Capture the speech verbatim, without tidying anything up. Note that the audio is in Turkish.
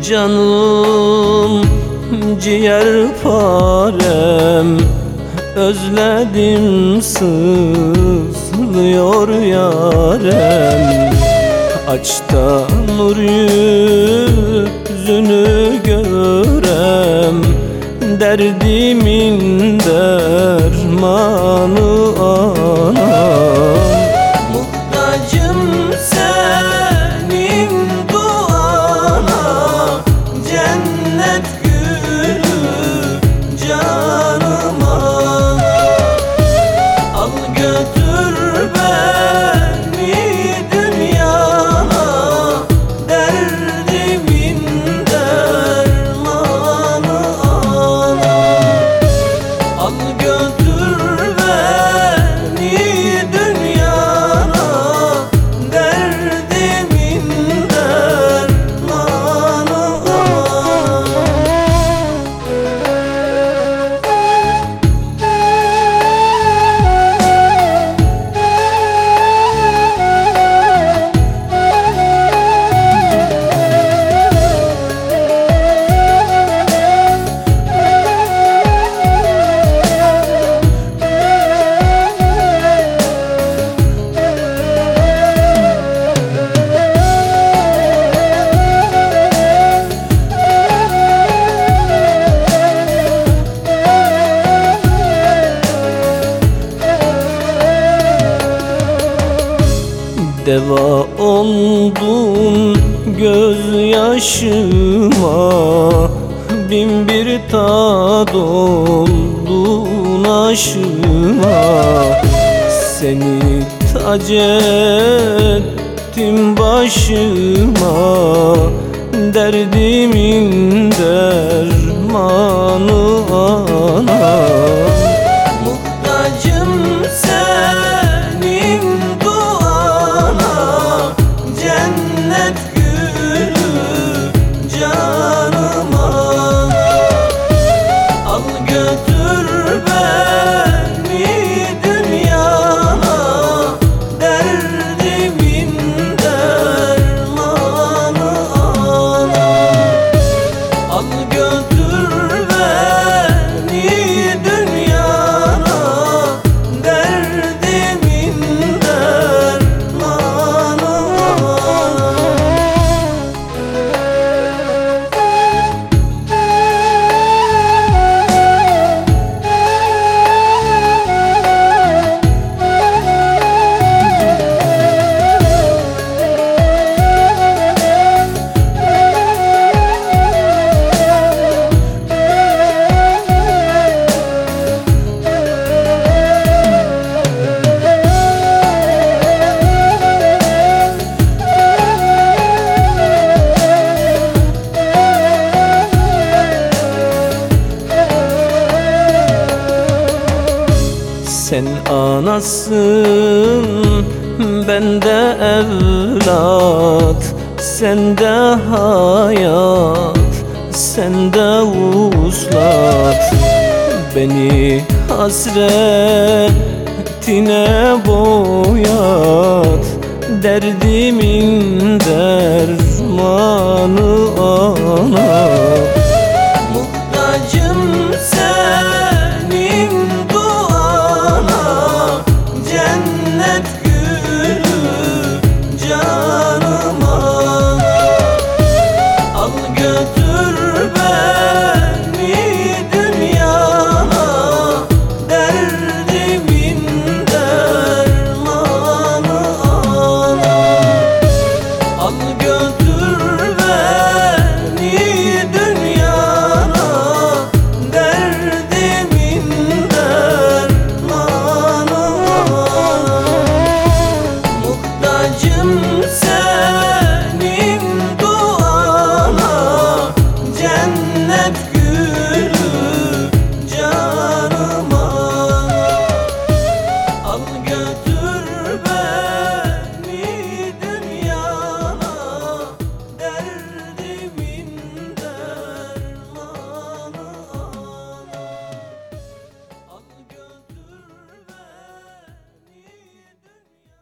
Canım ciğer parem, özledim sızlıyor yarem. Aç da nur yüzünü görem, derdimin dermanı anam. Muhtacım senin duana, cennet gülü canıma. Al götür beni dünyana, derdimin dermanı ana. Al götür beni dünyana, derdimin dermanı ana. Deva oldun gözyaşıma, bin bir tad oldun aşıma. Seni tac ettim başıma, derdimin dermanı ana. Muhtacım senin duana, cennet gülü canıma. Al götür beni dünyana, derdimin dermanı ana. Al götür beni dünyana, derdimin dermanı ana. Sen anasın, ben de evlat. Sen de hayat, sen de vuslat. Beni hasretine boyat, derdimin dermanı ana.